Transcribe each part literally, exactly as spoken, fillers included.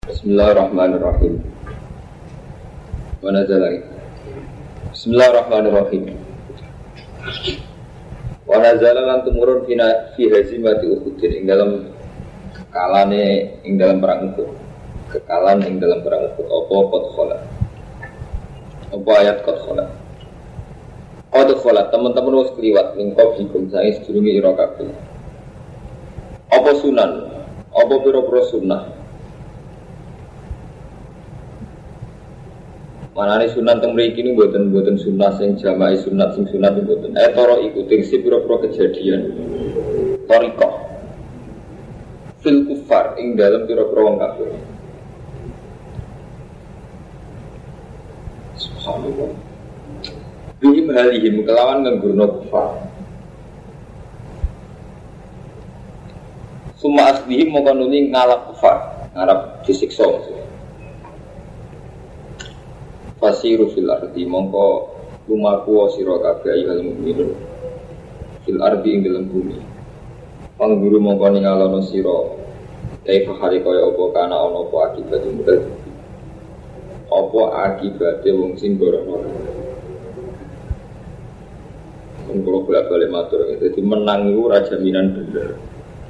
Bismillahirrahmanirrahim. Mana jalan? Bismillahirrahmanirrahim. Wa nazala lan tumurun fi fi hazimati Uhud ing dalam kalane ing dalam perang Uhud. Kekalan ing dalam perang Uhud apa qad khala. Apa ayat qad khala. Qad khala teman-teman wis kliwat ning qablikum sae sedurunge ira kabeh. Apa sunan? Apa pira-pira sunah? Manane sunat teng mriki niku mboten-mboten sunat sing jamaah sunat sing sunat mboten. Eh toro ikuti si pira-pira kejadian. Thariqah. Fil kufar ing dalem pira-pira wong kafir. Subhanallah. Bihim halihim kelawan nggurno kufar. Suma asbihim moko nuli ngalap kufar, ngarep disiksa. Fasiru fil ardi mongko lumaku sira kabeh ayyuhal mukminun fil ardi ing dalem bumi pangguru mongko ningalono sira kaifa hari kaya apa kana ana apa akibat mudal apa akibate wong sing gorono mongko bolak-balik matur dadi menang iku ora jaminan bener.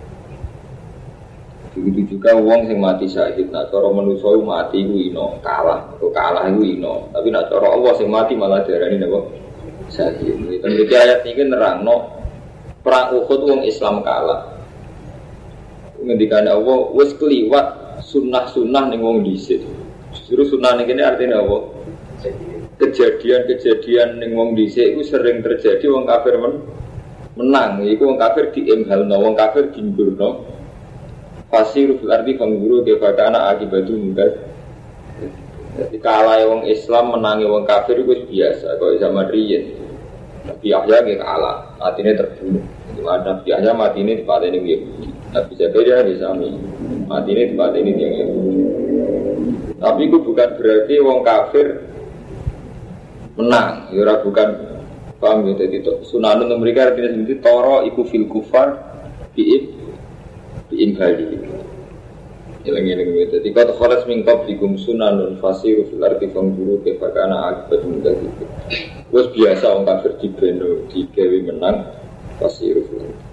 Begitu juga wong sing mati syahid, nak cara manusa mati iku ino, kalah, atau kalah iku ino. Tapi nak cara Allah sing mati malah diarani napa? Syahid. Iki ayat iki nerangno perang Uhud wong Islam kalah. Ngendikane Allah wis kliwat sunah-sunah ning wong dhisik. Justru sunah ning kene artine apa? Kejadian-kejadian ning wong dhisik iku sering terjadi wong kafir men menang. Iku wong kafir diemhalno, wong kafir dimburno. Fasiru fil ardi fangguru kebakana akibatu mungkas. Jadi kalah wong Islam menangi wong kafir itu biasa. Kalau zaman riyen Nabi Yahya ke kalah, matinya terbunuh. Nabi Yahya matinya di tempat ini Yahudi. Nabi Zakaria di sami matinya di tempat ini yang Yahudi. Tapi itu bukan berarti wong kafir menang. Ya bukan paham ya. Jadi sunanun mereka artinya sendiri toro iku fil kufar bi'ib bi'imbali. Ilang-ilang itu. Jika terkhalas mingkab dikum sunanun fasiru fil arti fangguru kebakana akibat mudah itu. Terus biasa orang kafir dibeno digawe menang fasiru fil arti.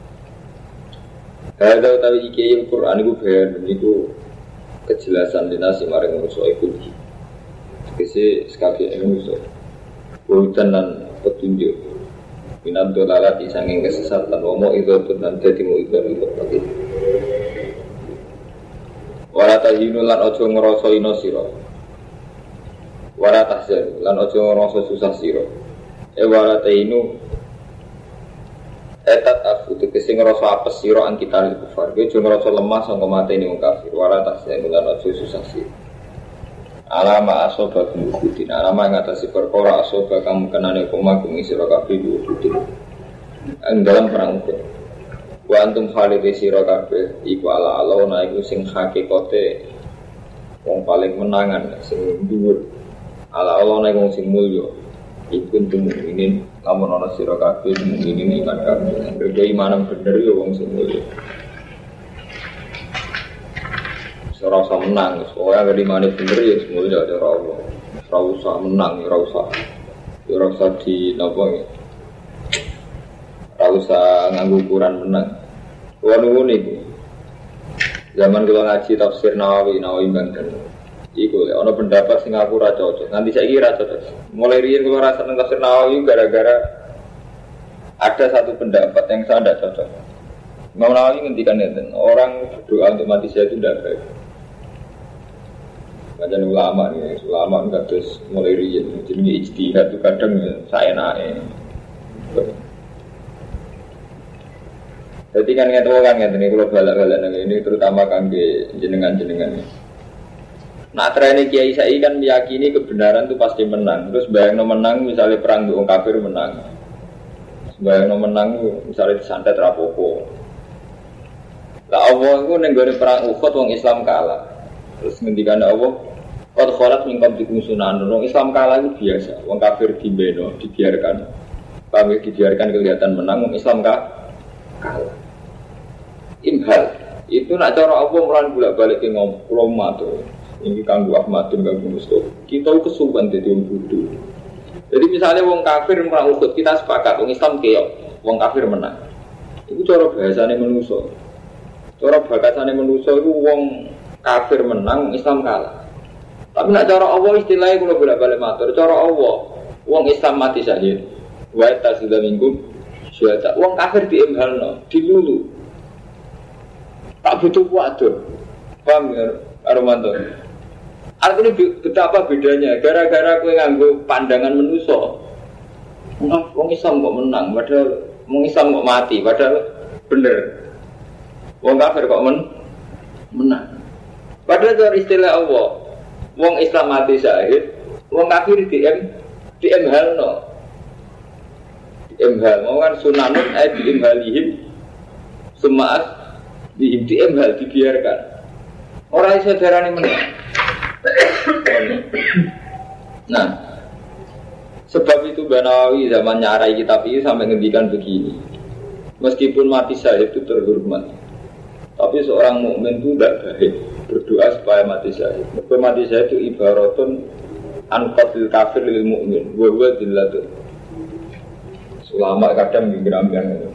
Ada utawi iki Al-Qur'an iku bayan niku kejelasan dinasi maring manusa iku. Kese sekali manusa. Bukan lan petunjuk. Minat dolarat disanging kesesatan omo itu dan jadi mau itu itu lagi. Warata hinulan ojo ngeroso ino siro. Warata tahzan lan ojo ngeroso susah siro. E warata hinu etat aku tegese ngeroso apes siro an kita di kufar. Gue ojo ngeroso lemah sangka mati ini mengkafir. Warata tahzan lan ojo susah siro. Alama asoba kumukudin alama yang atas si perkara asoba kamu kenane koma kumisi rokabi diukudin yang dalam perang Uhud wa antum khalidi si rokabi iku ala ala na iku sing hakikote wong paling menangan sing dhuwur ala ala na iku sing mulya iku entum mukminin lamun ana si rokabi mukminin iman kabeh beriman bener ya wong sing mulya. Ora usah menang, soalnya dari mana bener ya semuanya ada Allah. Ora usah menang, ora usah, ora usah di nopo ya. Ora usah nganggo ukuran menang. Kuwi nunggu niku. Zaman kula ngaji tafsir Nawawi, Nawawi Banten. Iku lek ana pendapat sing aku ora cocok. Nanti saiki ora cocok. Mulai riyen kula rasa nang tafsir Nawawi gara-gara ada satu pendapat yang saya tidak cocok. Imam Nawawi ngendikan ngeten, orang berdoa untuk mati syahid itu tidak baik. Kajian ulama nih, ulama enggak terus mulai riyen, jadi ijtihad itu kadang saya naik. Jadi kan ngerti kan ngerti nih kalau balak-balak ini terutama kangge jenengan-jenengan. Nah terakhir Kiai Sai kan meyakini kebenaran itu pasti menang. Terus bayang no menang misalnya perang dengan kafir menang. Bayang no menang misalnya disantet rapopo. Lah Allah itu nenggone perang Uhud wong Islam kalah. Terus ngendikan Allah, qad khalat min qablikum sunanun. Wong Islam kalah itu biasa, wong kafir dibeno, dibiarkan. Pamit dibiarkan kelihatan menang, wong Islam kalah. Imhal, Itu nak cara apa mulai bolak-balik ke ngomong matur. Ini kanggo Ahmad dan kanggo Mustofa. Kita kesuwen dadi wong bodho. Jadi misalnya wong kafir merang Uhud, kita sepakat wong Islam keok, wong kafir menang. Itu cara bahasane manusa. Cara bahasane manusa iku wong kafir menang, Islam kalah. Tapi nak cara Allah istilahnya kalau bolak-balik matur, cara Allah, wong Islam mati syahid, wa tasida minkum syuhada. Wong kafir diimhalno, dilulu. Tak butuh waduh. Paham ya, Armanto? Artinya betapa bedanya, gara-gara kowe nganggo pandangan manusa. Wong Islam kok menang, padahal wong Islam kok mati, padahal bener. Wong kafir kok men menang. Padahal cara istilah Allah, wong Islam mati syahid, wong kafir di em di emhalno, di emhal. Mau kan sunanun ay di emhalihim, semaat di di emhal dibiarkan. Orang saudara ini menang. Nah, sebab itu Banawi zaman nyarai kitab ini sampai ngendikan begini. Meskipun mati syahid itu terhormat, tapi seorang mukmin itu tidak baik berdoa supaya mati syahid. Berdoa mati syahid itu ibaratun anqatil kafir lil mukmin wa huwa dillatun. Ulama kadang nggambar itu.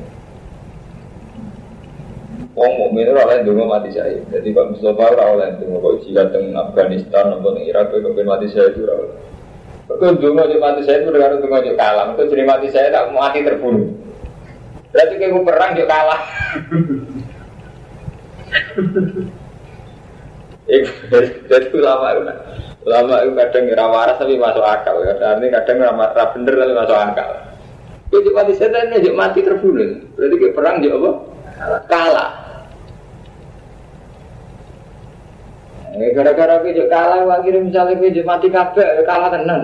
Wong mukmin ora oleh ndonga mati syahid. Jadi Pak Mustofa ora oleh ndonga kok jihad teng Afghanistan atau teng Irak kok ben mati syahid ora oleh. Kok ndonga yo mati syahid ora karo ndonga yo kalah. Kok jenenge mati syahid tak mati terbunuh. Berarti kowe perang yo kalah. Jadi ulama itu, ulama itu kadang ngira waras tapi masuk akal. Artinya kadang ngira bener tapi masuk akal. Jadi mati setan ini mati terbunuh. Berarti ke perang juga apa? Kalah. Gara-gara ke kalah, akhirnya misalnya ke mati kabeh kalah tenan.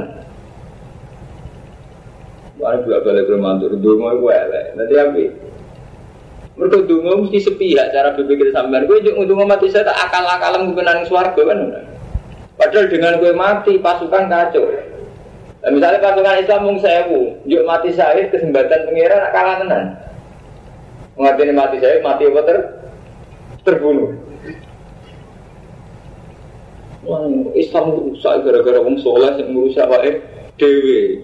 Wah, juga balik ke mantur dungo itu elek. Nanti apa? Mereka dungo mesti sepihak cara berpikir sampean. Gue juga dungo mati saya tak akal-akalan kebenaran swarga kan. Padahal dengan gue mati pasukan kacau. Nah, misalnya pasukan Islam mung sewu, juk mati syahid kesempatan pengiran nak kalah tenan. Mengerti mati syahid mati apa ter terbunuh. Wah, Islam rusak gara-gara wong saleh sing merusak wae dhewe.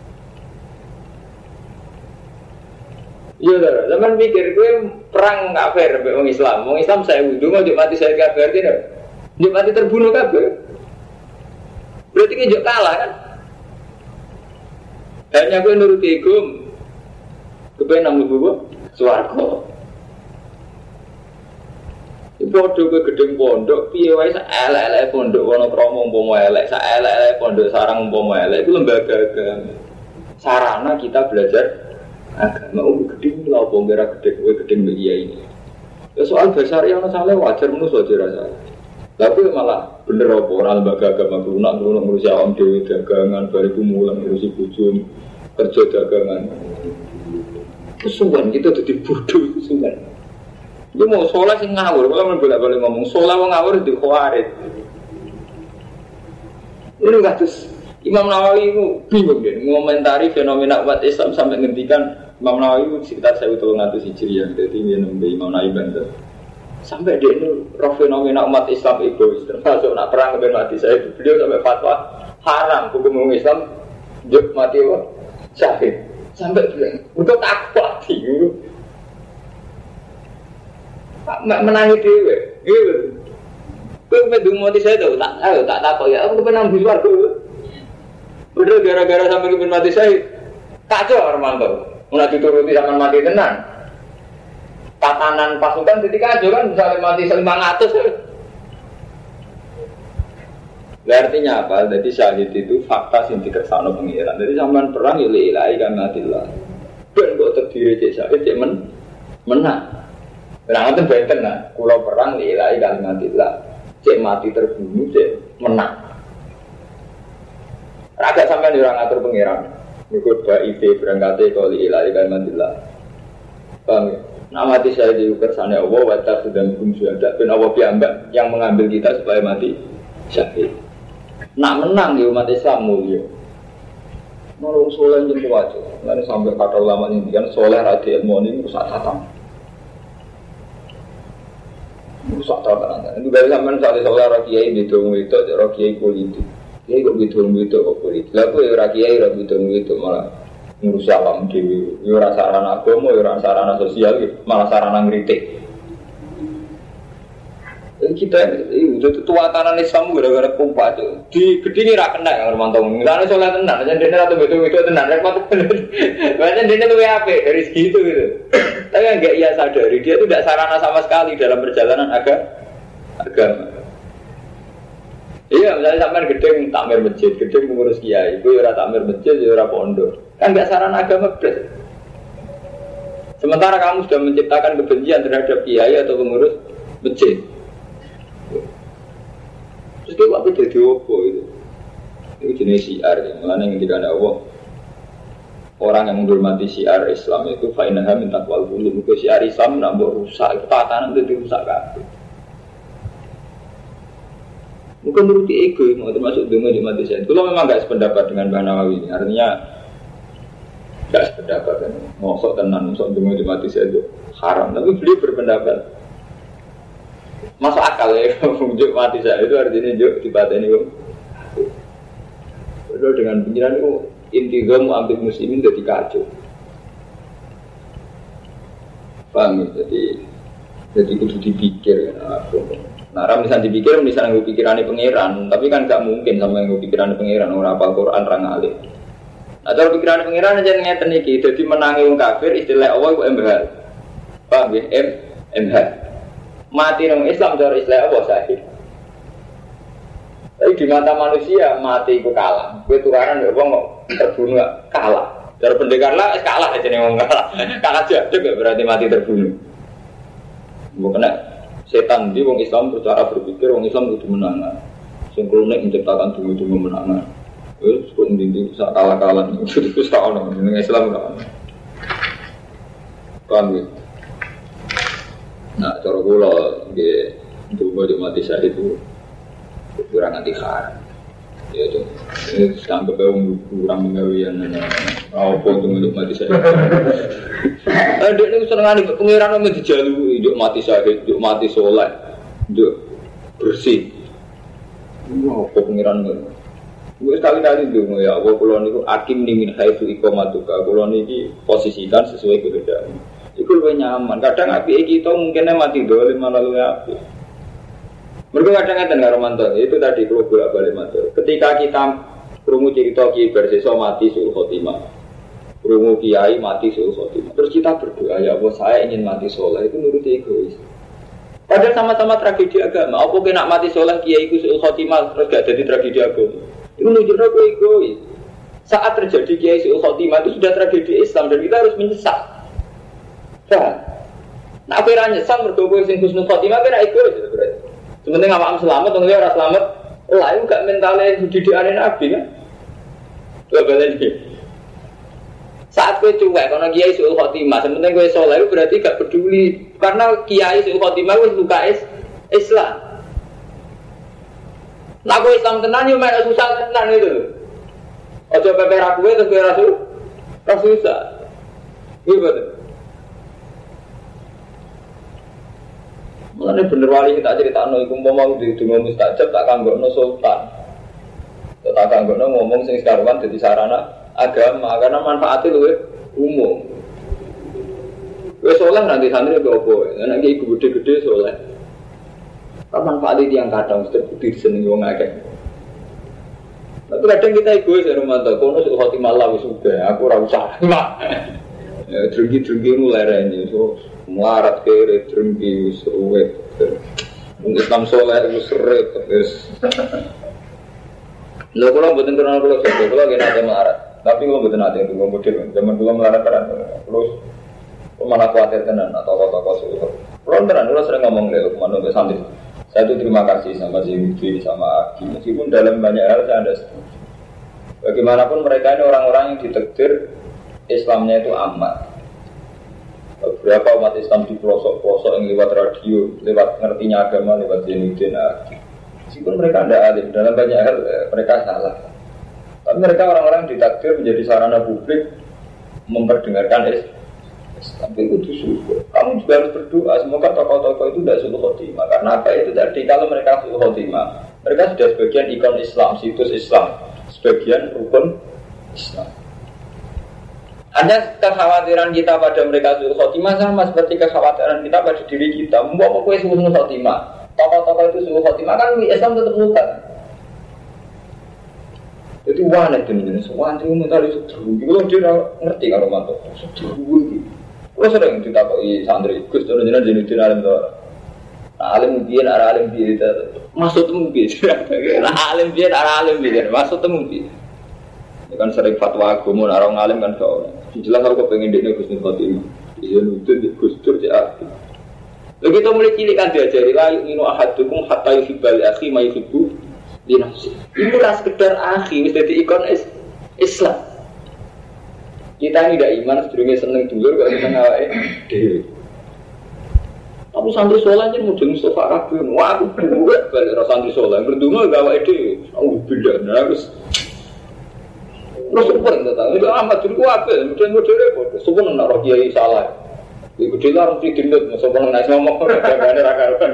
Iya dah, zaman mikir gue perang kafir mbek wong Islam. Wong Islam saya wudu juk mati syahid kafir tidak. Juk mati terbunuh kabeh. Berarti ki juk kalah kan? Hanya gue nuruti igum kepengen nang mlebu swarga. Bodoh gue gedeng pondok, piye wae sak elek-elek pondok Wonokromo umpama elek, sak elek-elek pondok sarang umpama elek itu lembaga agama. Sarana kita belajar agama. Oh gedeng lha opo ora gedeng kowe gedeng mbek iya ini. Ya soal dasar yang salah wajar menurut wajar rasa. Tapi malah bener apa ora lembaga agama lunak-lunak ngurusi awam dhewe dagangan bariku mulang ngurusi bojo kerja dagangan. Kesuwen kita dadi bodoh kesuwen. Dia mau sholat sing ngawur, kalau boleh boleh ngomong sholat mau ngawur di khawarid. Ini nggak terus Imam Nawawi itu bingung deh, mengomentari fenomena umat Islam sampai ngendikan Imam Nawawi itu sekitar saya utul ngatus hijriah, jadi dia nembe Imam Nawawi banter. Sampai dia itu roh fenomena umat Islam egois, termasuk nak perang dengan mati saya itu beliau sampai fatwa haram hukum Islam, juk mati apa syahid. Sampai bilang, untuk takwa tinggi. Menangi dewe, gitu. Kau medung mati saya tu, tak tahu, tak tahu ya. Aku kepenang di luar tu. Udah gara-gara sampai kepen mati saya, kacau orang tu. Mulai dituruti sama mati tenang. Tatanan pasukan jadi kacau kan, misalnya mati lima ratus. Artinya apa? Jadi syahid itu fakta yang dikersano pengiran. Jadi sampai perang ilahi kan matilah. Dan kok terdiri cek syahid cek men menang. Menang itu benten lah, kalau perang ilahi kalimatillah, cek mati terbunuh, cek menang. Agak sampai orang atur pengiran, ikut ba'ife berangkatnya kalau ilahi kalimatillah. Paham ya? Nah mati saya diukersana Allah, wajah sudah hukum syuhada, dan Allah piambak yang mengambil kita supaya mati syahid. Nak menang di umat Islam mulia. Nolong soleh yang kuat, nanti sampai kata ulama ini kan soleh radi ilmu ini rusak tatang. rusak tau tenan. Itu bae sampean soal soal ora kiai bidung itu, ora kiai politik. Kiai kok bidung itu kok politik. Lah kok ora kiai ora bidung itu malah ngurusi awam dhewe. Ya ora sarana agama, ya ora sarana sosial, malah sarana ngritik. Kita itu tuatanan Islam gara-gara kumpat itu di gedini rak kena yang mantong. Misalnya soalnya tenang, jadi dia atau betul betul tenang, repot. Bahkan dia itu W A P dari segitu gitu. Tapi yang nggak ia sadari dia itu tidak sarana sama sekali dalam perjalanan agama. Agama. Iya, misalnya sampai gedeng takmir masjid, gedeng mengurus kiai, itu ora takmir masjid, ora pondok. Kan nggak sarana agama beres. Sementara kamu sudah menciptakan kebencian terhadap kiai atau pengurus masjid. Terus dia waktu jadi apa itu? Itu jenis syiar ya. Mulanya yang tidak ada Allah. Orang yang menghormati syiar Islam itu fa'inaha min taqwal qulub. Itu syiar Islam nak buat rusak. Itu tatanan itu dirusak kabeh. Bukan menuruti ego, mau termasuk dungu di mati saya. Kalau memang nggak sependapat dengan Mbah Nawawi ini, artinya nggak sependapat kan. Ngosok tenan, ngosok dungu di mati saya itu haram. Tapi beliau berpendapat. Masuk akal ya, menunjuk mati saya itu artinya juk dibateni kok. Padahal dengan pikiran itu intiga mu ambil muslimin jadi kacau. Paham ya? Jadi jadi kudu dipikir kan. Nah, orang misalnya dipikir misalnya gue pikirannya pangeran, tapi kan gak mungkin sama yang gue pikirannya pangeran orang apal Quran orang alim. Nah, kalau pikirannya pangeran aja ngeten iki, jadi menangi wong kafir istilah Allah ku embhal. Paham ya? M embhal. Mati orang Islam cara Islam apa sahih. Tapi di mata manusia mati itu kalah. Gue tukaran ya bang terbunuh kalah. Cara pendekar lah kalah aja nih orang kalah. Kalah aja juga berarti mati terbunuh. Bukan setan di orang Islam bercara berpikir orang Islam itu menangan. Singkronik menciptakan tunggu-tunggu menangan. Terus kok mending bisa kalah-kalah itu itu salah orang Islam kan. Paham ya? Nah, cara kula nggih ndonga yo mati saya itu kurang anti haram. Ya itu. Ini sampai wong kurang mengawian apa untuk mati saya. Eh dek niku senengane pengiran men dijaluki yo mati saya, yo mati saleh, yo bersih. Wah, apa pengiran ngono. Wis kali-kali ndonga ya Allah kula niku akim ni min haitsu iqamatuka. Kula niki posisikan sesuai kehendakmu. Itu lebih nyaman. Kadang api kita mungkinnya mati dolim malah lebih api. Mereka kadang-kadang nggak romantis. Itu tadi kalau bolak balik mati. Ketika kita kerungu cerita kiai bersisa mati suul khotimah, kerungu kiai mati suul khotimah. Terus kita berdoa ya Allah saya ingin mati soleh. Itu menurut egois. Padahal sama-sama tragedi agama. Apa kena mati soleh kiai ku suul khotimah terus gak jadi tragedi agama. Itu menunjukkan aku egois. Saat terjadi kiai suul khotimah itu sudah tragedi Islam dan kita harus menyesal. Nah, aku ora nyesal mergo kowe sing husnul khotimah kira egois berarti. Sementing awakmu selamat wong liya ora selamat, lah iku gak mentale didikane Nabi kan. Lha berarti saat kowe cuek ana kiai suul khotimah, sementing kowe saleh berarti gak peduli karena kiai suul khotimah wis luka Islam. Nah, kowe Islam tenan yo mek susah tenan itu. Aja pepe ra kowe terus kowe ra susah. Ra susah. Iya betul. Mulane bener wali kita critakno iku mau di dungo mustajab tak kanggokno sultan. Tak kanggokno ngomong sing sekaruan dadi sarana agama karena manfaatnya luwih umum. Wis saleh nanti santri kok opo? Nek iki gede-gede saleh. Apa manfaatnya yang kadang terbukti disenengi wong akeh. Tapi kadang kita egois ya romanto, kono sing khotimah Allah wis sudah, aku ora usah. Ya drengki-drengki mulai rene so melarat kere drengki wis ruwet. Wong Islam saleh wis seret wis. Lha kula mboten kenal kula sapa, kula nggih nate melarat. Tapi kula mboten nate tunggu model, zaman kula melarat tenan. Terus mana kuatir tenan atau toko-toko suruh. Kula tenan kula sering ngomong lho kemana untuk santri. Saya itu terima kasih sama si Widi, sama Aki. Meskipun dalam banyak hal saya ada setuju. Bagaimanapun mereka ini orang-orang yang ditakdir Islamnya itu aman. Beberapa umat Islam di pelosok-pelosok yang lewat radio, lewat ngertinya agama, lewat Zainuddin Aki. Meskipun mereka tidak alim, dalam banyak hal mereka salah. Tapi mereka orang-orang ditakdir menjadi sarana publik memperdengarkan Tapi itu syukur. Kamu juga harus berdoa semoga tokoh-tokoh itu tidak sulh khotimah. Karena apa itu tadi kalau mereka sulh khotimah, mereka sudah sebagian ikon Islam, situs Islam, sebagian rukun Islam. Ada kekhawatiran kita pada mereka sulh khotimah sama seperti kekhawatiran kita pada diri kita. Mau kue sulh khotimah, tokoh-tokoh itu sulh khotimah kan Islam tetap luka. Jadi wana itu nih, semua antri minta itu terus. Kalau dia ngerti kalau mantu, terus gitu. Kalau sering ditakuti santri, Gus turun jenazah jenis jenis alim tu. Alim biar arah alim biar itu masuk temu biar. Alim biar arah alim biar masuk temu biar. Ini kan sering fatwa agama orang alim kan kau. Jelas aku pengen dia Gus Nur Fatimah. Dia nuntut Gus Dur dia. Lagi kita mulai cilik kan diajari lah yuk ahadukum hatta yuhibbal akhi ma yuhibbu li nafsi. Ini ras sekedar akhi wis dadi ikon Islam. Kita ini tidak iman sedurunge seneng dulur kok seneng awake dhewe. Tapi santri saleh yen mudeng Mustafa kabeh. Wah aku buat balik ro santri saleh berdungo gak awake dhewe. Aku beda terus. Terus super enggak tahu. Amat dulu apel mudeng-mudeng repot. Sumpah nek ro kiai salah. Iku dilarang didendut musuh nek ngomong gane ra karuan.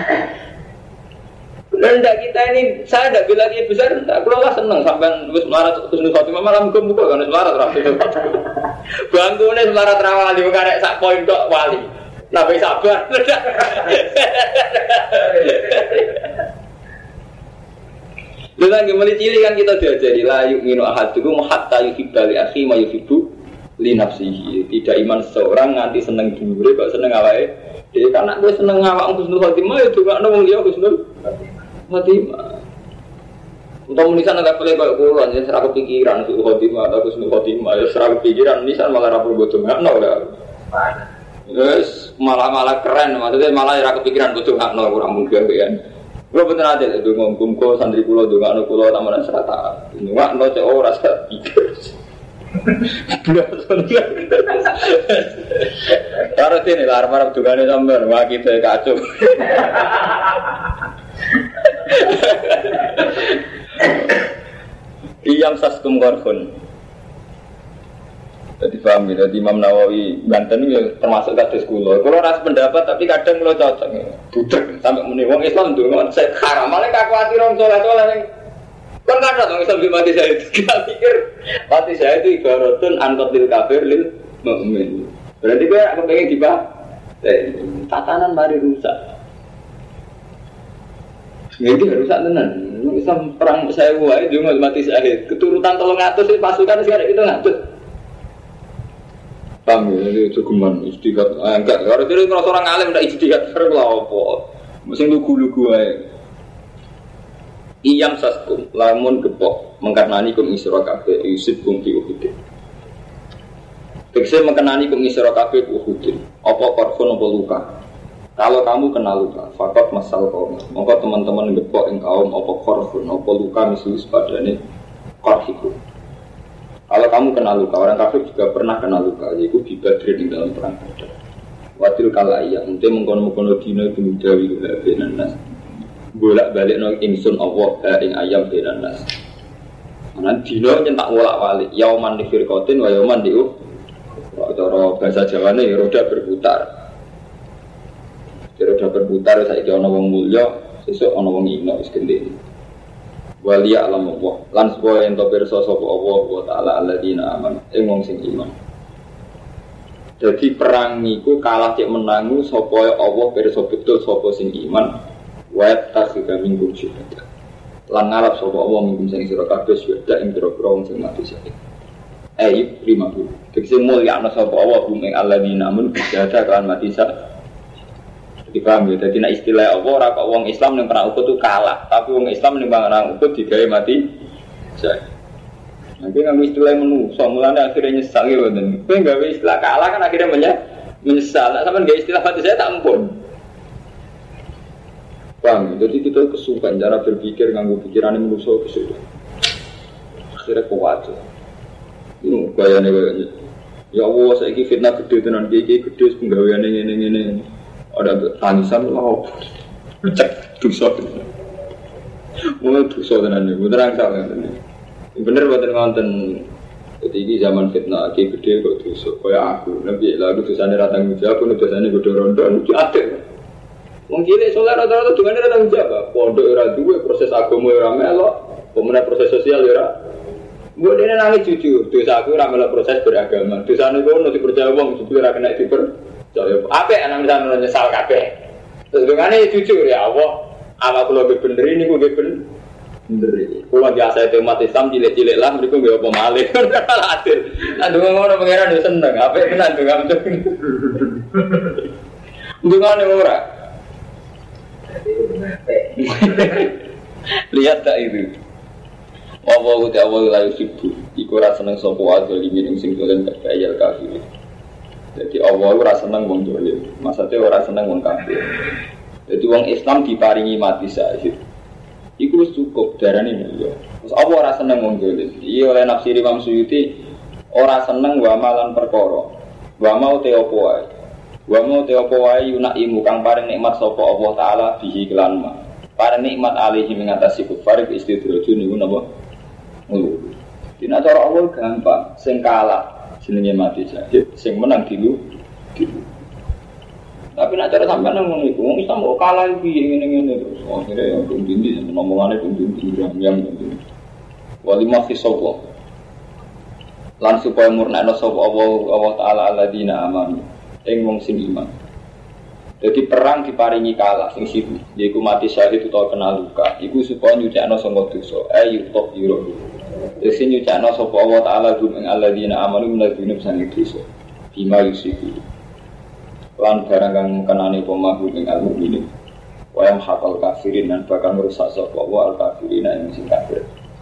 Lenda kita ini, saya tidak bilang dia besar, tak kelola seneng sampai terus melarat terus nusati malah muka-muka kan melarat rapi bangkunya melarat rawali bukan ada sak poin dok wali nabi sabar lu lagi mulai cilik kan kita diajari lah yuk minu ahadukum hatta yuhibbali akhi ma yuhibbu li nafsihi. Tidak iman seseorang nganti seneng dulu kok seneng awake dhewe karena gue seneng awak Husnul Khotimah ya juga ana wong liya Husnul Khotimah. Untuk menisan agak boleh kayak kulon, ya serah kepikiran Husnul Khotimah atau Husnul Khotimah, ya serah kepikiran nisan malah rapor bodoh nggak no lah. Yes, malah malah keren, maksudnya malah serah kepikiran bodoh nggak no kurang mungkin kan. Gue bener aja itu ngomong kok santri kulo juga no kulo tamunan serata, nggak no cek orang serah pikir. Taruh sini lah, harap-harap dugane sampean, wah kita kacau. Iyam saskum korfun. Jadi paham ya, jadi Imam Nawawi Banten itu termasuk kados kula. Kula ras pendapat tapi kadang kula cocok. Budek sampai muni wong Islam ndonga saya haram, malah kakuatiran saleh-saleh. Kan kada dong Islam di mati saya itu. Kita pikir mati saya itu ibaratun anqatil kafir lil mukmin. Berarti kowe aku pengen dibah. Tatanan mari rusak. Ya itu rusak tenan. Islam perang saya wae ndonga mati syahid. Keturutan tolong atus pasukan sekarang kita ngatur. Paham ya, ini cukuman istiqat. Ah, enggak, kalau jadi kalau orang alim tidak istiqat, terus lah apa? Mesti lugu-lugu aja. Iyam saskum, lamun gepok, mengkarnani kum isra kabeh, yusib kum fi uhudin. Tekse mengkarnani kum isra kabeh uhudin. Apa korfon apa luka? Kalau kamu kena luka, fakot masal kaum. Maka teman-teman gepok yang kaum apa korfon apa luka misalnya sepadane korhiku. Kalau kamu kena luka, orang kafir juga pernah kena luka, yaitu di Badr di dalam perang Badar. Wadil kala iya, untuk mengkono-mengkono dino itu mudawi benan nas. Bolak balik no ingsun Allah ing ayam benan nas. Mana dino nyentak bolak balik, yauman di firqatin, wa yauman di uh. Cara bahasa Jawa ini roda berputar. Roda berputar, saya kira ana wong mulya, sesuk ana wong ino wis gendhe. Waliya alam Allah lan supaya ento pirsa sapa Allah wa taala alladzina amanu ing wong sing iman. Dadi perang niku kalah cek menangu sapa Allah pirsa betul sapa sing iman wa tasika minggu syuhada. Lan ngarep sapa Allah minggu sing sira kabeh syuhada ing pira-pira wong sing mati syahid. Ayat lima puluh. Tegese mulya ana sapa Allah ing alladzina amanu syuhada kan mati syahid. Dipaham ya, jadi nak istilah apa orang kok wong Islam yang perang Uhud itu kalah, tapi wong Islam yang perang Uhud digawe mati. Nanti nggak istilah menu, soalnya akhirnya nyesal gitu. Tapi nggak istilah kalah kan akhirnya menyesal. Nah, sama nggak istilah mati saya tak ampun. Paham? Jadi kita kesukaan cara berpikir nganggo pikiran yang menuso kesukaan. Akhirnya kuat. Ini gayanya gayanya. Ya Allah, saya ini fitnah gede tenan, gede gede penggawean ini ini ini. Ada tangisan lah, cek dosa, mulai dosa tenan ni, beneran salah tenan. Bener bener ngonten Jadi ini zaman fitnah, aki gede kok dosa, kayak aku. Nabi lalu dosanya ratang jawab, pun dosanya gue dorong dorong, itu ada. Mungkin soalnya rata-rata dengan ratang jawab, pondok era dua proses agama era melok, kemudian proses sosial era. Gue dia nangis jujur, dosa aku era melok proses beragama. Dosanya gue nanti percaya uang, supaya kena dipercaya. Apa anak misalnya nyesal kape? Terus dengan ini jujur ya Allah, amal kalau gue bener ini gue bener. Bener. Kalau biasa itu umat Islam cilik-cilik lah, mereka nggak apa malih. Kalau adil, nanti orang pengiran dia seneng. Apa yang nanti nggak betul? Dengan orang. Lihat tak itu? Wawahu ta'awahu layu sibuk. Iku rasa seneng sopo adil ini yang sing dolen kekayal kafir. Jadi Allah rasa seneng wong dolen. Maksudnya orang seneng wong kafir. Jadi wong Islam diparingi mati syahid. Iku wis cukup darane mulya. Terus apa ora seneng wong dolim? Iya oleh nafsir Imam Suyuti ora seneng wa malan perkara. Wa mau te apa wae. Wa mau te apa wae yunaimu kang paring nikmat sapa Allah taala bihi kelan ma. Paring nikmat alihi mengatasi kufar istidraju niku napa? Ngono. Dina cara Allah gampang, sing kalah jenenge mati syahid, sing menang dilu dilu. Tapi nak cara sampai nang ngono iku, wong Islam kok kalah iki ngene-ngene terus. Akhire ya dindi ngomongane dindi yang dindi. Wali mafi sapa. Lan supaya murnakno sapa Allah Allah taala alladzina amanu. Ing wong sing iman. Jadi perang diparingi kalah sing situ, yaiku mati syahid utawa kena luka. Iku supaya nyucikno sangka dosa. Ayu top yuro. Dadi nyucikno sapa Allah taala gum ing alladzina amanu minadzina sang dosa. Bima yusiku. Lan barang kang kenani pemahu ing al-mukminin wa yam haqal kafirin dan bakal merusak sapa wa al-kafirin ing sing kafir.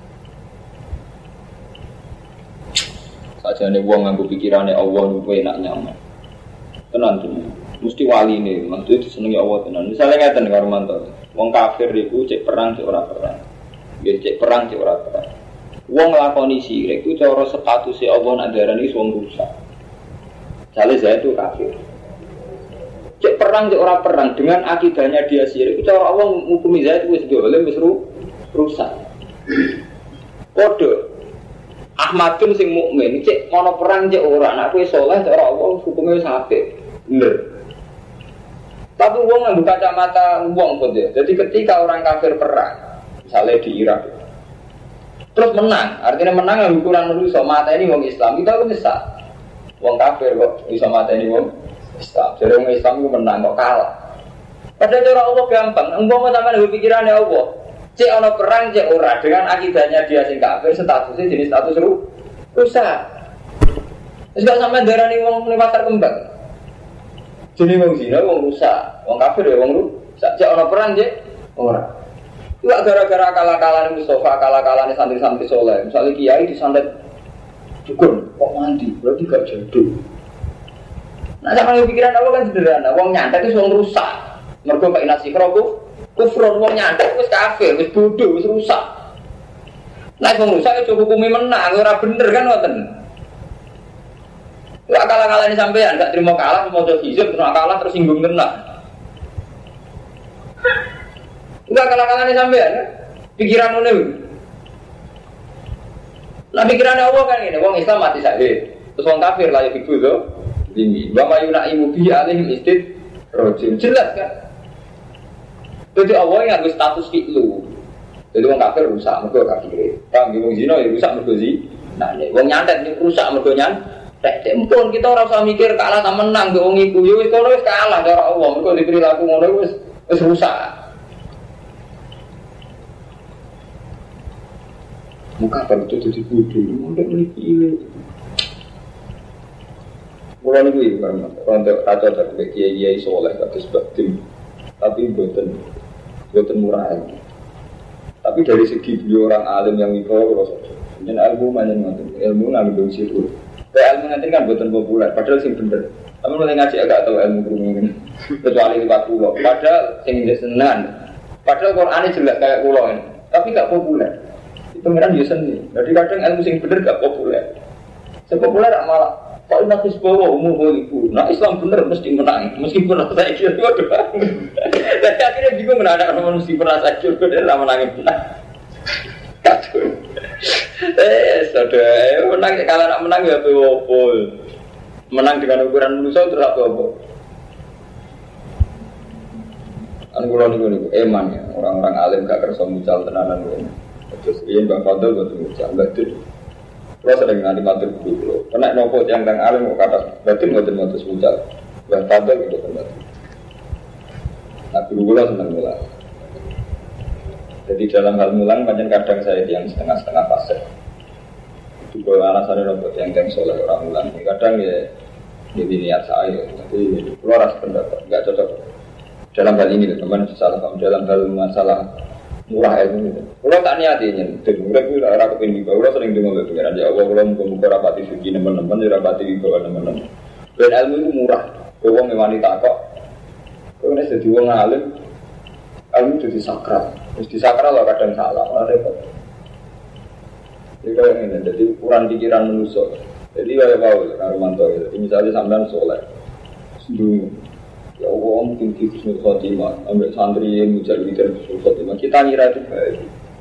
Sajane wong nganggo pikirane Allah luwih enak nyaman. Tenan tenan. Mesti waline, maksud disenengi Allah tenan. Misale ngeten karo mantu. Wong kafir iku cek perang cek ora perang. Nggih cek perang cek ora perang. Wong nglakoni syirik iku cara statuse Allah nak darani wong rusak. Jale saya itu kafir. Cek perang cek ora perang dengan akidahnya dia syirik itu cara Allah ngukumi Zaid wis dolim wis rusak. Kode Ahmadun sing mukmin cek ana perang cek ora nek kowe saleh cara Allah hukume wis apik. Bener. Tapi wong nganggo kacamata wong kok ya. Jadi ketika orang kafir perang misalnya di Irak terus menang, artinya menang yang ukuran rusak mata ini wong Islam kita kan bisa. Wong kafir kok bisa mata ini wong Islam, jadi orang Islam itu menang, kok kalah. Padahal cara Allah gampang, engkau sama dengan pikirannya Allah. Cek ono perang, cek ora dengan akidahnya dia sing kafir, statusnya jenis status ru, rusak. Terus gak sampai darah nih wong nih pasar kembang. Jadi wong zina, wong rusak, wong kafir ya wong rusak. Cek ono perang, cek ora. Enggak gara-gara kalah-kalah Mustafa, kalah-kalah santri-santri soleh. Misalnya kiai disantet dukun, kok mandi, berarti gak jadul. Nah, sama yang pikiran apa kan sederhana, wong nyantet itu wong rusak. Mergo Pak Inasi Krokuf, kufron wong nyantet wis kafir, wis bodoh, wis rusak. Nah, wong rusak itu hukumi menang, ora bener kan ngoten. Lah kalah-kalah ini sampean, gak terima kalah, mau coba hijab, terus kalah terus singgung tenan. Enggak kalah-kalah ini sampean, kan? Pikiran ngene. Lah pikirannya Allah kan ngene, wong Islam mati syahid. Terus wong kafir lah ya iku lho. Ini, wa mayunaimu bi alaihim istid rojim, jelas kan? Jadi Allah yang harus status fi'lu. Jadi orang kafir rusak, mereka kafir. Orang ngomong zina ya rusak, mereka zina. Nah, orang nyantet rusak, mereka nyantet. Tempun kita orang usah mikir kalah tak menang ke orang itu. Ya wis kono wis kalah cara Allah, mereka diberi laku ngono wis wis rusak. Muka kalau itu jadi bodoh, mondok ini. Mulai ini kan, untuk raja dan kiai-kiai soleh kata sebab tim, tapi buatan, buatan murah ini. Tapi dari segi beliau orang alim yang wibawa, dan ilmu mana nanti, ilmu ngambil situ. Ilmu nanti kan buatan populer, padahal sing bener. Tapi mulai ngaji agak tahu ilmu kurung kecuali lewat pulau. Padahal sing senang, padahal Quran ini jelas kayak pulau ini, tapi nggak populer. Itu pengiran dia seni. Jadi kadang ilmu sing bener nggak populer. Sepopuler malah. Pak Nabi bawa umum ibu, nah Islam bener mesti menang, meskipun rasa ekor itu ada. Dan akhirnya bingung menanda orang mesti merasa ekor itu adalah menangin benar. Eh, sudah, menang kalau nak menang ya apa? Menang dengan ukuran manusia terus apa? Anu kula niku niku eman ya, orang-orang alim gak kersa mucal tenanan kula. Terus riyen Bang Fadl boten mucal, batin. Kula sering nganti matur kula. Nek nopo tiyang kang alim kok kata batin boten motos mucal. Bang Fadl itu benar. Nah, guru kula seneng mulang. Jadi dalam hal mulang macam kadang saya yang setengah-setengah fase. Itu kalau alasannya nopo tiyang kang soleh orang mulang. Kadang ya jadi niat saya. Jadi kula rasa pendapat enggak cocok. Dalam hal ini teman salah paham dalam hal masalah murah ilmu itu. Kalau tak niati nyentuh, mereka itu arah kepingin bahwa sering dengar pengiran ya Allah kalau muka rapati suci teman-teman, rapati bawa teman-teman. Dan ilmu itu murah. Kalau wanita kok, kalau ini jadi orang alim, ilmu itu disakral. Terus disakral lah kadang salah, malah repot. Jadi kalau ini, jadi ukuran pikiran manusia. Jadi kayak Paul, Karumanto itu. Misalnya sampean soleh, sedung. Ya Allah mungkin di Husnul Khotimah ambil santri yang mencari dari Husnul Khotimah kita ngira itu baik.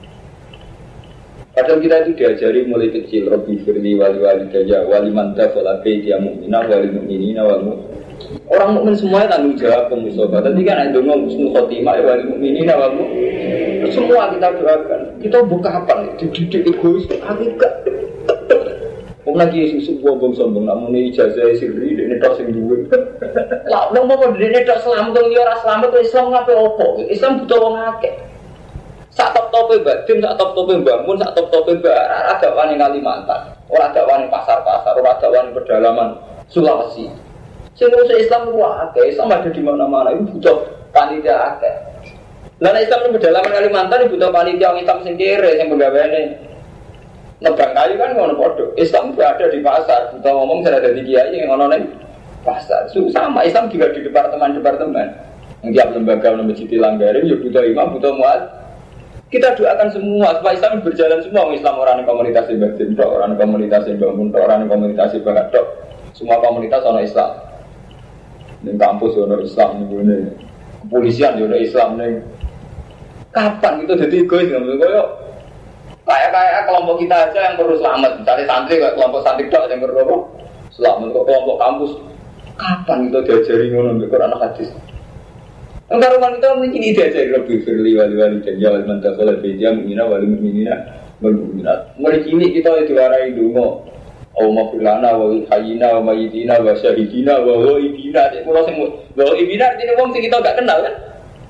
Padahal kita itu diajari mulai kecil Rabbi firli wali wali daya wali mantah wala baiti mu'minah wali mu'minina wal mu'min. Orang mukmin semuanya tanggung jawab pemusobat. Tadi kan ada ngomong Husnul Khotimah wali mu'minina wal mu'min. Semua kita doakan. Kita buka kapan? Dididik egois. Aku gak. Wong lagi susu bombong sombong namun ijazah sirri dene tok sing duwe. Lah nang apa dene tok selamat wong ora selamat Islam ngape opo? Islam butuh wong akeh. Sak top-tope batin, sak top-tope bangun, sak top-tope ora ada wani Kalimantan, ora ada wani pasar-pasar, ora ada wani pedalaman Sulawesi. Sing ngurusi Islam ku akeh, Islam ada di mana-mana itu butuh panitia akeh. Lah nek Islam di pedalaman Kalimantan butuh panitia wong Islam sing kere sing penggaweane nebang kayu kan ngono padha. Islam juga ada di pasar. Kita ngomong saya ada di kiai yang ngono ning pasar. Sama Islam juga di departemen-departemen. Yang tiap lembaga masjid langgarin ya butuh imam, butuh muadzin. Kita doakan semua supaya Islam berjalan semua. Islam orang yang komunitas batin, orang yang komunitas bangun, orang yang komunitas bakat. Semua komunitas ono Islam. Ning kampus ono Islam ning kepolisian yo ono Islam ning. Kapan kita jadi egois ngomong koyo kayak-kayak kelompok kita aja yang perlu selamat. Misalnya santri, kayak kelompok santri dok yang perlu selamat. Kok kelompok kampus, kapan kita diajari ngono Quran hadis? Enggak rumah kita mungkin ini diajari lebih firli wali-wali dan jawab mantap oleh beja mungina wali mungina berminat. Mulai kini kita diwarai dungo. Allah filana wa hayina wa mayitina wa syahidina wa waibina. Kalau semua waibina artinya wong sing kita enggak kenal kan?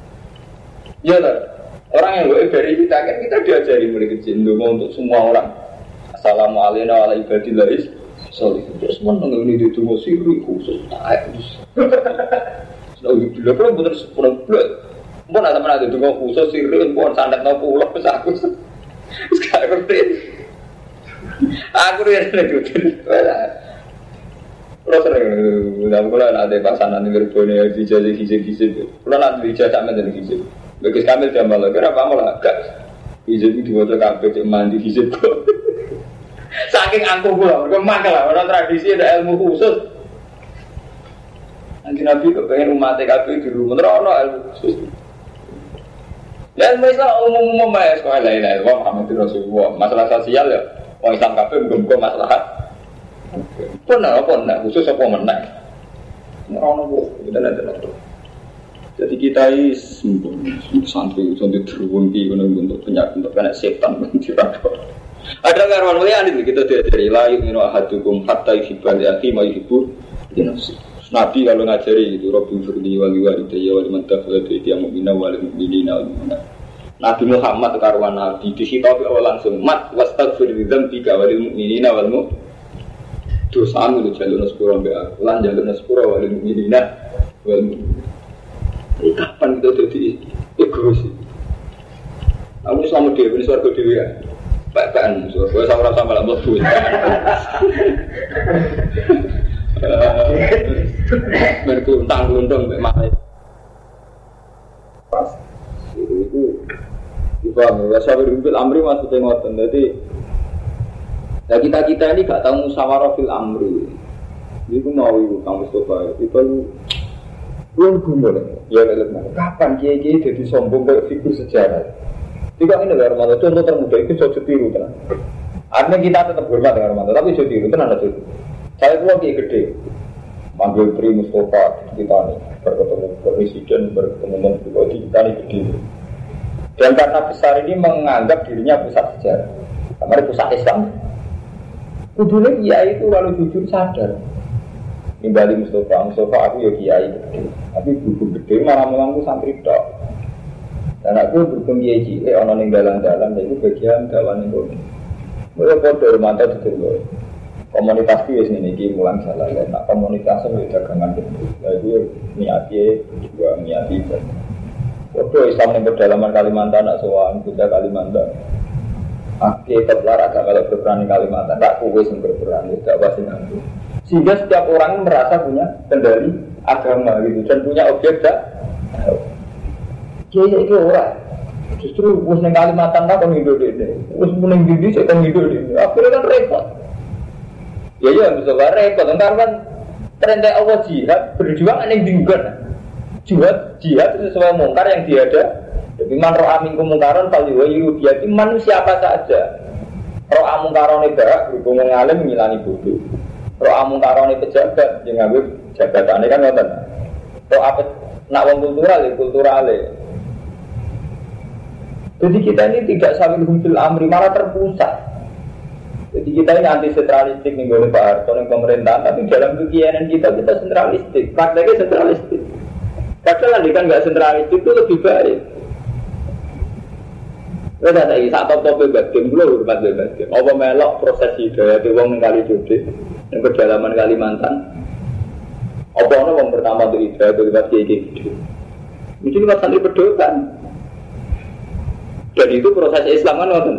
Ya lah. Orang yang boleh dari kita kan kita diajari mulai kecil untuk semua orang. Assalamualaikum warahmatullahi wabarakatuh. Solih terus menang ini di tunggu siri khusus tak. Sudah bila kalau benar sepuluh bulan, pun ada mana di tunggu khusus siri pun sandat no pulau pesaku. Sekarang berarti aku yang ada di Kalau sering, dalam kalau ada pasangan yang berbunyi dijajah hijab-hijab, kalau nanti dijajah sama dengan hijab. Bagus kamil jam malam, kenapa malah agak hijab itu buat kafe cek mandi hijab kok. Saking angkuh pula, kemana lah orang tradisi ada ilmu khusus. Nanti Nabi kepengen umat T K P di rumah terus ilmu khusus. Ya ilmu Islam umum-umum ya sekolah lain-lain. Wah Muhammad Rasulullah masalah sosial ya, orang Islam kafe bukan masalah. Pernah apa nak khusus apa menang? Orang apa kita nanti. Jadi kita ini santri santri terwunti untuk penyakit untuk kena setan mentirapor. Ada karuan mulia ini kita diajari layu minu ahadukum hatta yuhibba li akhi ma yuhibbu li nafsi. Nabi kalau ngajari itu Rabbi firli wali walidayya wal man tafala bi dia mu'mina wal mu'minina wal mu'minat. Nabi Muhammad karuan nabi dihitopi awal langsung mat wastaghfir li dzambika wal mu'minina wal mu'minat. Dosamu itu jalur sepura mbak lan jalur sepura wal mu'minina wal mu'minat. Kapan kita jadi egois? Aku selama dia ini suarga dewi ya. Baik-baikan suarga sama rasa malah melebu. Berkuntang-kuntang bagaimana? Pas itu dipahami. Wasawi rimbil amri maksudnya ngoten. Jadi ya kita-kita ini gak tahu musyawarah fil amri. Itu mau itu kamu coba. Itu belum gumul ya. Ya kapan kiai-kiai jadi sombong kayak figur sejarah. Jika ini dari Romanto, contoh termuda itu so tiru kan. Artinya kita tetap hormat dengan Romanto, tapi so tiru kan ada tuh. Saya itu lagi gede, manggil Tri Mustafa kita nih, berketemu presiden, berketemu menteri kita nih gede. Dan karena besar ini menganggap dirinya pusat sejarah, kamar pusat Islam. Kudunya kiai itu kalau jujur sadar. Nimbali Mustafa, Mustafa aku ya kiai gede, tapi buku gede malah melangku santri dok. Dan aku berhubung kiai cilik, orang yang jalan-jalan, itu bagian jalan itu. Mereka bodoh mata itu loh. Komunitas itu ini ini mulang jalan, nah komunitasnya itu dagangan itu. Jadi niatnya juga niati itu. Bodoh Islam yang berdalaman Kalimantan, nak soal kita Kalimantan. Akhirnya terlar agak kalau berperan di Kalimantan, tak kuis yang berperan, tidak pasti nanti. Sehingga setiap orang merasa punya kendali agama gitu dan punya objek dah. Kiai itu orang justru us neng Kalimantan tak kon hidup ini, us neng Bidi saya kon hidup ini. Akhirnya kan repot. Ya ya bisa kan repot. Karena kan tren Allah jihad berjuang neng diugan. Jihad jihad itu sesuai mungkar yang tiada. Tapi man roh amin kemungkaran paling wayu dia itu manusia apa saja. Roh amun karone barak berhubung ngalim ngilani bodoh. Roh amun karone pejabat yang ngambil jabatannya kan ngoten. Roh apa nak wong kultural ya kultural. Jadi kita ini tidak sambil humpil amri malah terpusat. Jadi kita ini anti sentralistik nih oleh Pak Harto yang pemerintahan, tapi dalam kegiatan kita kita sentralistik, prakteknya sentralistik. Padahal kan nggak sentralistik itu lebih baik. Kita tadi saat top-top bebas game, dulu hormat bebas game. Apa melok proses hidayah di wong kali Jodi, yang pedalaman Kalimantan. Apa ono wong pertama itu hidayah itu lewat kiai gitu. Mungkin lewat santri pedotan. Dan itu proses Islam kan ngoten.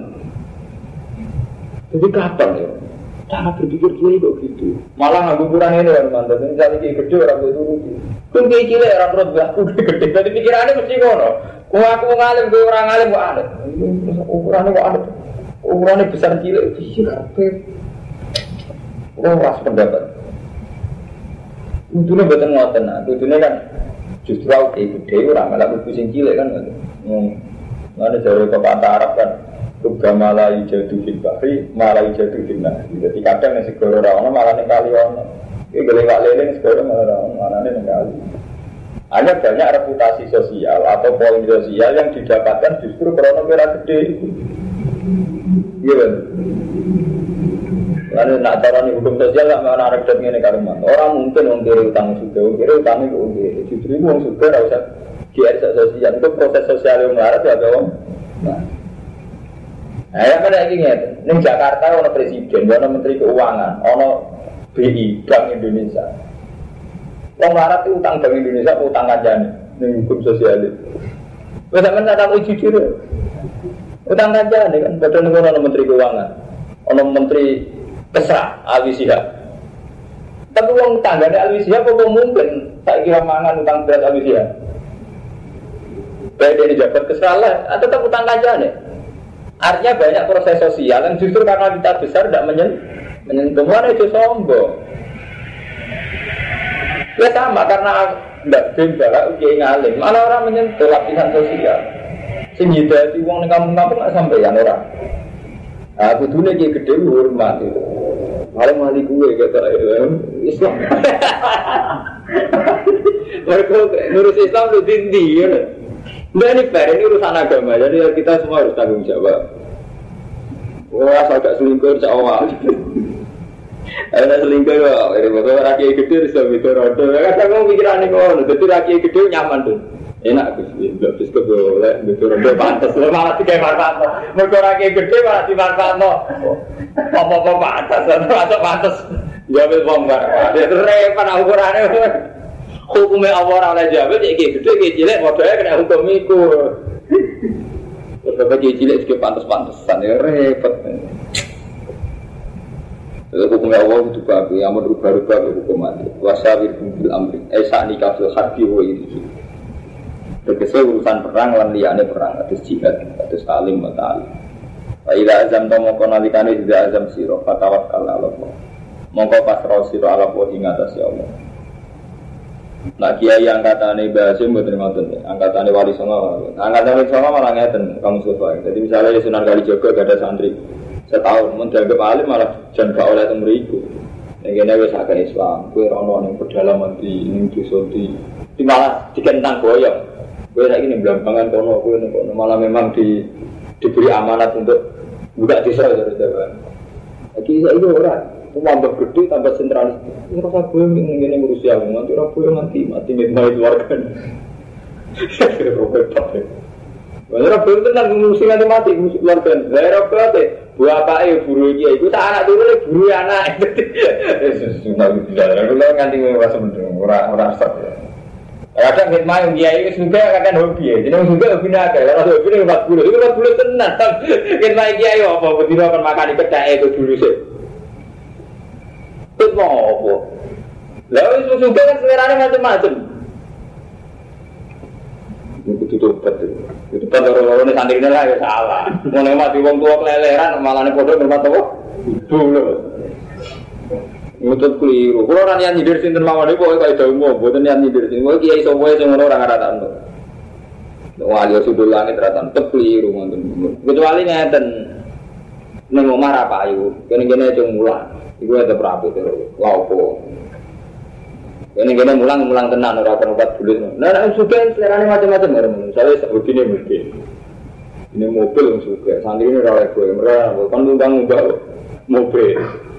Jadi kapan ya? Cara berpikir kiai kok gitu. Malah nganggo kurang ini kan mantap. Ini cari kiai gede orang itu rugi. Kun kiai cilik orang terus aku gede. Jadi pikirannya mesti ngono. Kau aku ngalim, kau orang ngalim kok ada. Ukurannya kok ada. Ukurannya besar cilik. Iya, oh, ras pendapat. Untungnya betul ngoten. Untungnya kan justru aku kiai gede orang malah pusing cilik kan. Mana jauh kata Arab kan. Tuga malah jatuh di bahri, malah jatuh di nasi. Jadi kadang yang segera rawan malah yang kali rawan. Ini gelewak leleng segera malah rawan, malah yang kali. Hanya banyak reputasi sosial atau poin sosial yang didapatkan justru karena kira gede. Iya. Karena nak cara nih hukum sosial tak mana ada kedap ini karuman. Orang mungkin mengkiri utang sudah, mengkiri utang itu mengkiri. Justru itu orang sudah tidak usah kiai sosial. Itu proses sosial yang melarat ya dong. Nah, yang mana lagi nih? Neng Jakarta ada presiden, ada menteri keuangan, ada B I Bank Indonesia. Orang melarat itu utang Bank Indonesia, utang kajian, neng hukum sosial itu. Bisa mana tak boleh jujur? Utang kajian kan, betul nih ada menteri keuangan, ada menteri Kesra, Alwi Shihab. Tapi uang tangganya Alwi Shihab apa mungkin tak kira mangan utang berat Alwi Shihab? Baik dari jabat Kesra lah, atau tetap utang kajian ya? Artinya banyak proses sosial yang justru karena kita besar tidak menyentuh, menyentuh mana itu sombong. Ya sama karena tidak benda ujian ngalim, mana orang menyentuh lapisan sosial. Sehingga di uang di kampung-kampung nggak sampaian orang. Aku dulu lagi gede hormat itu. Malah mali gue kata Islam. Mereka ngurus Islam itu tinggi ya. Nah ini fair, ini urusan agama, jadi kita semua harus tanggung jawab. Wah, asal gak selingkuh insya Allah. Ada selingkuh ya, ini bakal rakyat gede bisa bikin roda. Kadang kamu pikiran ini kok, jadi rakyat gede nyaman tuh. Enak tuh, nggak bisa boleh bikin roda pantas. Malah tiga manfaat, mereka rakyat gede malah di manfaat no. Apa-apa pantas, atau pantas. Jawab bongkar, itu repot ukurannya. Hukumnya Allah oleh jawab, jadi gede, gede cilik, modalnya kena hukum itu. Beberapa gede cilik juga pantas-pantasan, ya repot. Jadi hukumnya Allah itu bagus, yang merubah-rubah hukum mati. Wasawir bumbil amri, esa nikah fil harbi wa itu. Terkesal urusan perang, lan liyane perang, atas jihad, atas talim, matalim. Fa'idha azam tomo konalikani tidak azam siro, fatawakal Allah. Mongko pasrah siro ala Allah ingatasi Allah. Nak kiai angkatane Mbah Hasyim mboten ngoten. Angkatane Wali Songo. Angkatane Wali Songo malah ngeten kamu sofa. Jadi misalnya Sunan Kalijaga gak ada santri setahun mun dianggap alim malah jan gak oleh teng mriku. Nek kene wis agak Islam, kowe rono ning pedalaman di ning desa di di malah dikentang boyong. Kowe saiki ning Blambangan kono kowe ning kono malah memang di diberi amanat untuk buka desa terus-terusan. Lagi saiki ora tambah gede, tambah sentralis. Ini rasa gue ingin ngurusi aku, nanti orang gue mati, mati ngedmai keluarga. Robert Pate. Orang gue tenang ngurusi nanti mati, ngurusi keluarga. Saya Robert Pate, buah apa ya burunya itu, tak anak dulu nih buru anak. Sudah tidak, aku lah nganti merasa mendung, orang-orang stop. Kadang ngedmai yang kiai juga kadang hobi ya, jadi juga hobi naga. Kalau hobi ini empat puluh, itu empat puluh tenang. Ngedmai kiai apa? Betul akan makan di kedai itu dulu sih. Itu mau apa? Lalu itu juga kan seleranya macam-macam. Itu tutup betul. Itu kan orang-orang ini santri ini lah ya salah. Mau mati wong tua keleleran malah nih bodoh bermata wah. Itu loh. Ngutut keliru. Kalau orang yang nyindir sinten mawon itu kayak jauh mau, bukan yang nyindir sinten. Mau kiai semua yang orang rata-rata itu. Wali sudul langit rata-rata tetap keliru. Kecuali ngeten neng omah apa ayu, kene-kene cung mulang. Iku ada berapi terus, laupo. Kene-kene mulang-mulang tenan ora kan obat bulut. Nah, nek suka selerane macam-macam orang. Saya sebutine mesti. Ini mobil suka, santri ini ora oleh kowe, ora kan undang-undang mobil.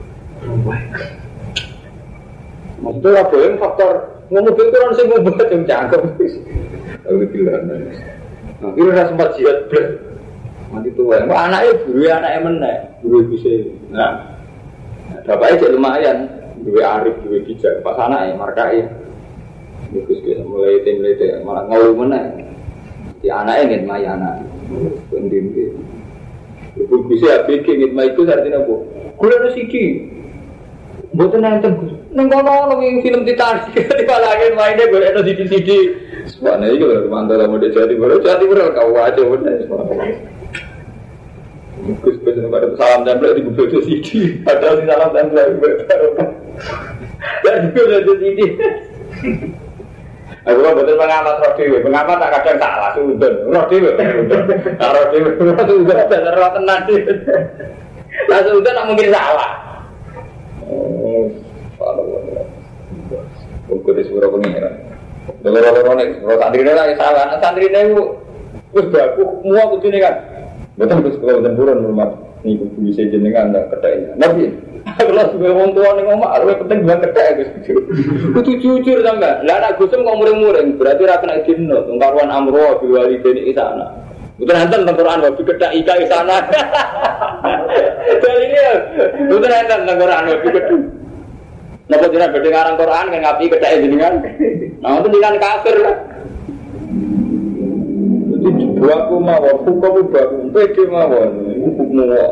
Maksudnya apa yang faktor mobil itu orang sing ngobat yang cangkem. Aku bilang. Nah, kira ora sempat jihad blek. Mati tuwa. Kok anake guru anake meneh, guru bisa. Nah, bapaknya jadi lumayan, dua arif, dua bijak, pas anak ya, markai. Bagus kita mulai tim mulai malah ngau mana? Di anaknya ingin mai anak, pendim gitu. Ibu bisa bikin ingin mai itu artinya apa? Kuliah ada siki, buat nonton gus. Nengkono nongin film Titanic, di balangin mainnya gue ada sidi-sidi. Sebenarnya itu loh mantap lah mau jadi baru jadi baru kau aja bener. Gus gus pada salam tempel di buku C D. Padahal di salam tempel itu baru. Dan itu ada C D. Aku kan betul pengamat Rodi, pengamat tak kadang salah sudah. Rodi, Rodi, Rodi sudah benar benar tenang sih. Lah sudah tak mungkin salah. Oh, kalau buku di surau pengiran. Dengar-dengar nih, kalau santri ini lagi salah, santri ini itu, terus aku semua kudu ini kan. Betul terus kalau tempuran rumah ini bisa jenengan tak kedainya. Nabi, kalau sudah orang tua nih ngomong, lebih penting bilang kedai Gus. Kudu jujur tambah. Lah anak Gusem kok muring-muring, berarti ra kena dino. Tungkaruan amro biwali dene isana. Betul nanten tengkoran wabi kedai ika isana. Jadi ini, betul nanten tengkoran wabi kedai. Napa jenengan badhe ngarang Quran kan ngapi kedai jenengan. Nah itu jenengan kafir lah. Buatku mawon, hukum buatku, pede mawon, hukum mawon.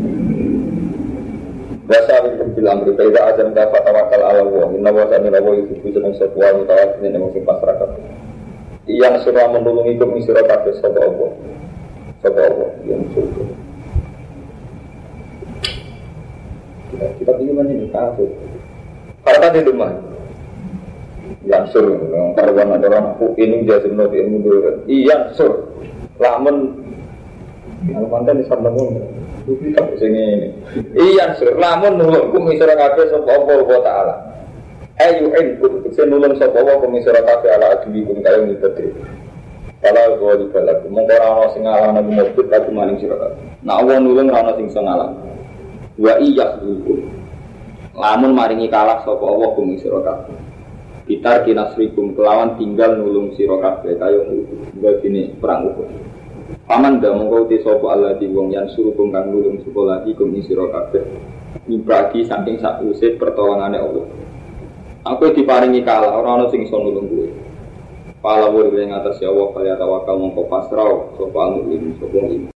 Bahasa itu bilang berbeda azam dapat tawakal ala Allah. Inna wasani lawa itu senang sebuah mutawat ini yang mesti masyarakat. Yang sudah menolong itu misra kabeh sapa Allah, sapa Allah yang surga. Kita kita pilih ini kafir. Kalau tadi rumah, yang sur, kalau orang orang ini dia semua dia mundur. Iya sur. Lamun yang mantan di sana pun itu tak sini. Iya sur. Lamun nulung kumisara kafe sapa Allah Taala. Ayu en kudu nulung sapa Allah kumisara kafe ala adili kun kaya ngibete. Kalau gua di balaku mongko ora ana sing ngalang nang mobil lagu maning sira kabeh. Nah Allah nulung ora ana sing iso ngalang. Wa iya dulu. Lamun maringi kalah sapa Allah kumisara kabeh. Bitar kinasrikum kelawan tinggal nulung sira kabeh kaya ngono gini perang Uhud. Paman ndak mongko te sapa Allah di wong yang suruh kang nulung sapa lagi kum sira kabeh. Ibradi saking sakuse pertolongane Allah. Aku diparingi kalah ora ana sing iso nulung kowe. Pala wur ing atas ya Allah kaya tawakal mongko pasrah sapa mukmin sapa